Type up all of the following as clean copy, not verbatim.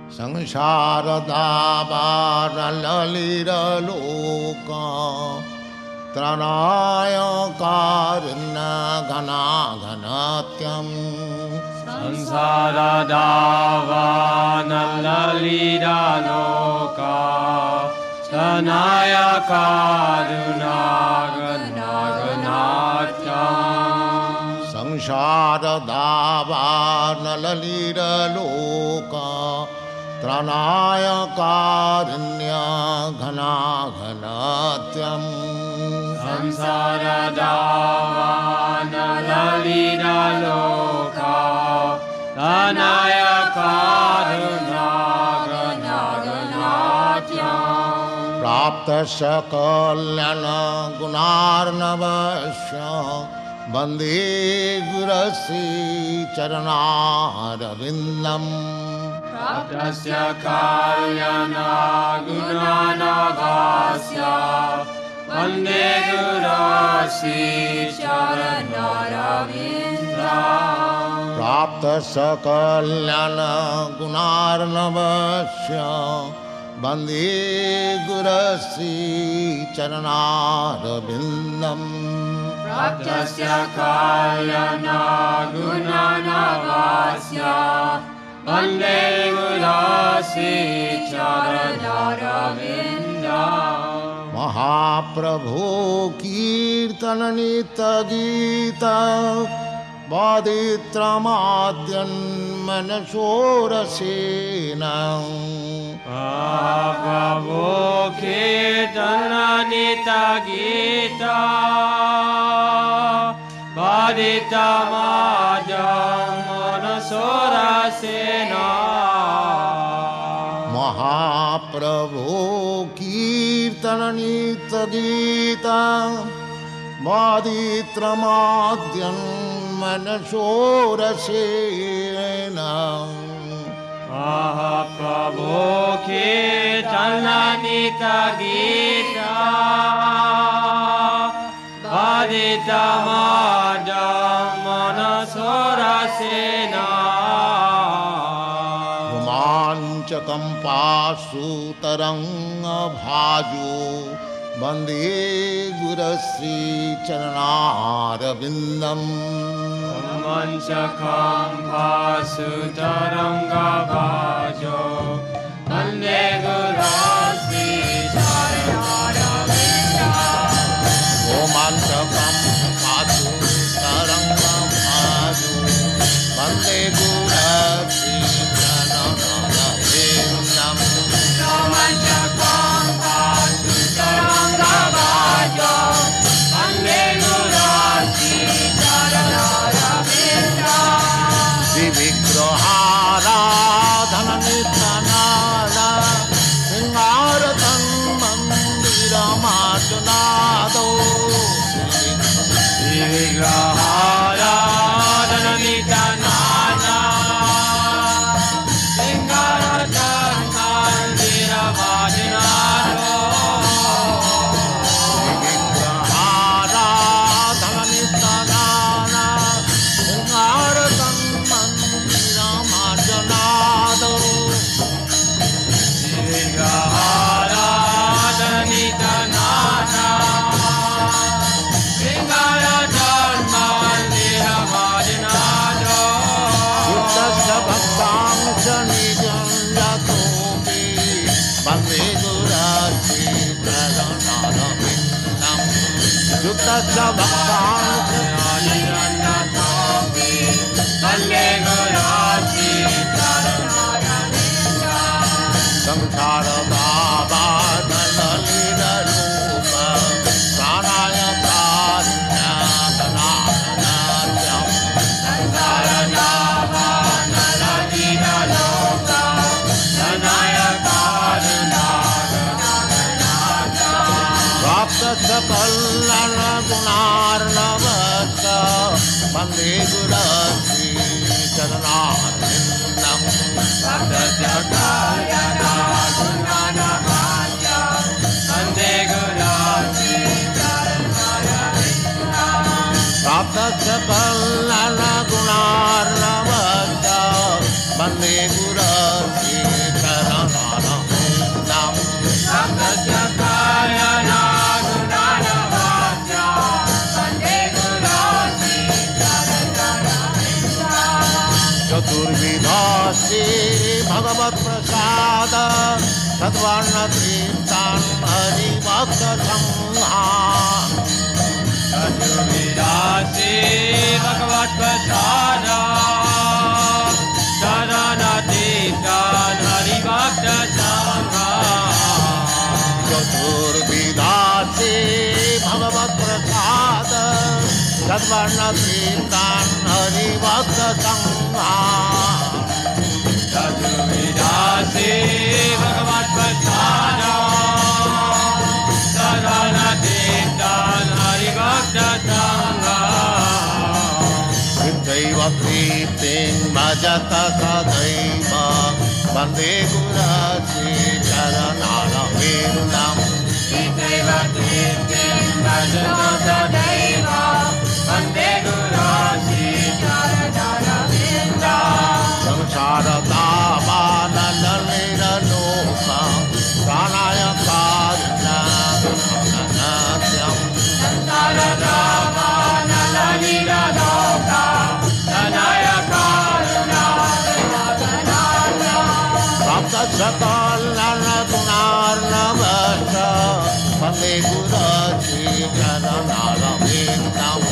संसारदावारललिरलोका त्रणाय कारुण्यघनाघनत्यम् संसारदावारललिरलोका त्रणाय कारुण्यघनाघनत्यम् संसारदावारललिरलोका त्रणाय कारुण्यघनाघनत्यम् संसारदावारललिरलोका त्रणाय कारुण्यघनाघनत्यम् प्राप्तस्य कल्याणगुणार्णवस्य वन्दे गुरुश्रीचरणारविन्दम् प्राप्तस्य कल्याणगुणार्णवस्य वन्दे गुरुश्रीचरणारविन्दम् प्राप्तस्य कल्याणगुणार्णवस्य वन्दे गुरुश्रीचरणारविन्दम् प्राप्तस्य कल्याणगुणार्णवस्य वन्दे गुरुश्रीचरणारविन्दम् महाप्रभो कीर्तननित्यगीत वादित्रमाद्यन्मनसोरसेन महाप्रभो कीर्तननित्यगीत वादित्रमाद्यन्मनसोरसेन महाप्रभो कीर्तननित्यगीत वादित्रमाद्यन्मनसोरसेन महाप्रभो कीर्तननित्यगीत वादित्रमाद्यन्मनसोरसेन रोमाञ्चकम्पासु तरङ्गभाजो वन्दे गुरुश्रीचरणारविन्दम् रोमाञ्चकम्पासु तरङ्गभाजो वन्दे गुरुश्रीचरणारविन्दम् रोमाञ्चकम्पासु तरङ्गभाजो वन्दे गुरुश्रीचरणारविन्दम् रोमाञ्चकम्पासु तरङ्गभाजो वन्दे गुरुश्रीचरणारविन्दम् विग्रहाराधननित्यनाद शृङ्गारतं मन्दिरमार्जनादौ विग्रहाराधननित्यनाद शृङ्गारतं मन्दिरमार्जनादौ विग्रहाराधननित्यनाद शृङ्गारतं मन्दिरमार्जनादौ विग्रहाराधननित्यनाद शृङ्गारतं मन्दिरमार्जनादौ युक्तस्य भक्तांश निजं यतोऽपि वन्दे गुरुश्रीचरणारविन्दम् युक्तस्य भक्तांश वन्दे गुरुश्रीचरणारविन्दम् संसारदावारललिररूप प्राणाय कारुण्यघनाघनत्यम् संसारदावारललिरलोका त्रणाय कारुण्यघनाघनत्यम् प्राप्तस्य कल्याणगुणार्णवस्य वन्दे गुरुश्रीचरणारविन्दम् प्राप्तस्य कल्याणगुणार्णवस्य वन्दे गुरुश्रीचरणारविन्दम् प्राप्तस्य कल्याणगुणार्णवस्य वन्दे गुरुश्रीचरणारविन्दम् चतुर्विधा श्री भगवत प्रसाद सद्वर्ण तीर्थान हरिभक्त संघान चतुर्विधा श्री भगवत प्रसाद सद्वर्ण तीर्थान हरिभक्त संघान चतुर्विधा श्री भगवत प्रसाद सद्वर्ण तीर्थान हरिभक्त संघान चतुर्विधा श्री भगवत प्रसाद सद्वर्ण तीर्थान हरिभक्त संघान कृत्यैव प्रीतिं भजत सदैव वन्दे गुरुश्री चरणारविन्दम् इत्यैव कीर्तिं भजत सदैव वन्दे गुरुश्री चरणारविन्दम् संसारतापानलनिरलोका प्राणाय कारुण्यागनाद्यम् संसारतापानलनिरलोका प्राणाय कारुण्यागनाद्यम् प्राप्तसकलनगुणार्णवश्च वन्दे गुरुश्री चरणारविन्दम्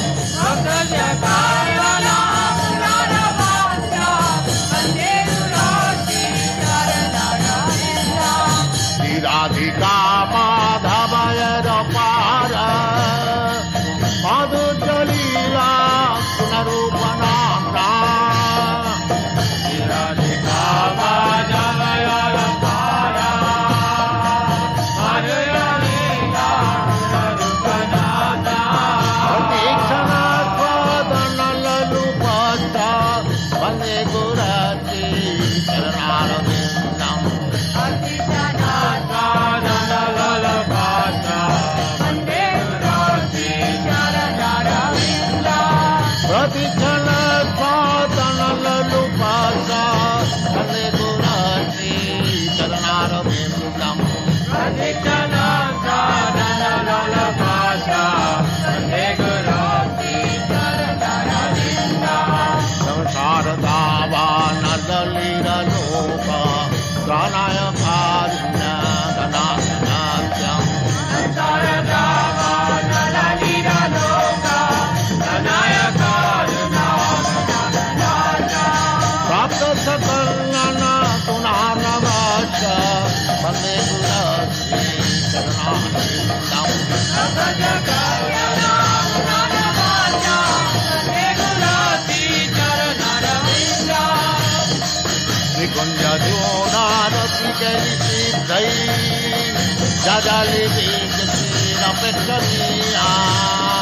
राधिका माधवय रपार मधुचलीला पुनरूपनाम्ना राधिका माधवय रपार मधुचलीला पुनरूपनाम्ना प्रतीक्षणात्वदनललुपस्थ वन्दे गुरुश्री चरणारविन्दम् प्रतिक्षणत्वदनललुपस्थ वन्दे गुरुश्री चरणारविन्दम् संसारदावानललिरलोक प्राणाय कारुण्यागनाद्यम् प्राप्तसकलनगुणार्णवश्च वन्दे गुरुश्री चरणारविन्दम् निकुञ्जजोनारसिकैः जजलिभिः श्रीरपेक्षणीया